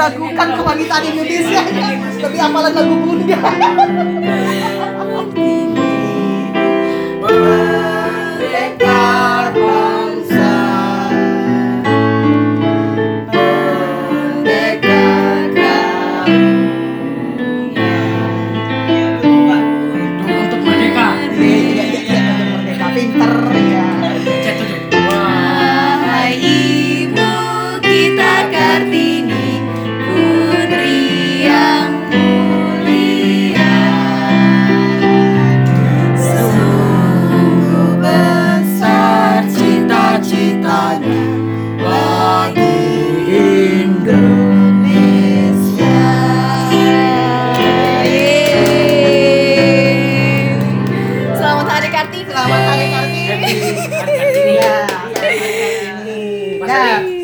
meragukan kewanitaan Indonesia. Tapi apalan lagu Bunda. Merdeka bangsa, merdeka Untuk merdeka. merdeka pinter ya. Wahai Ibu kita Kartini, putri yang mulia, sungguh besar cita-citanya bagi Indonesia. Selamat Hari Kartini. Selamat Hari Kartini. Kartini. Ya, Mas nah, Adi.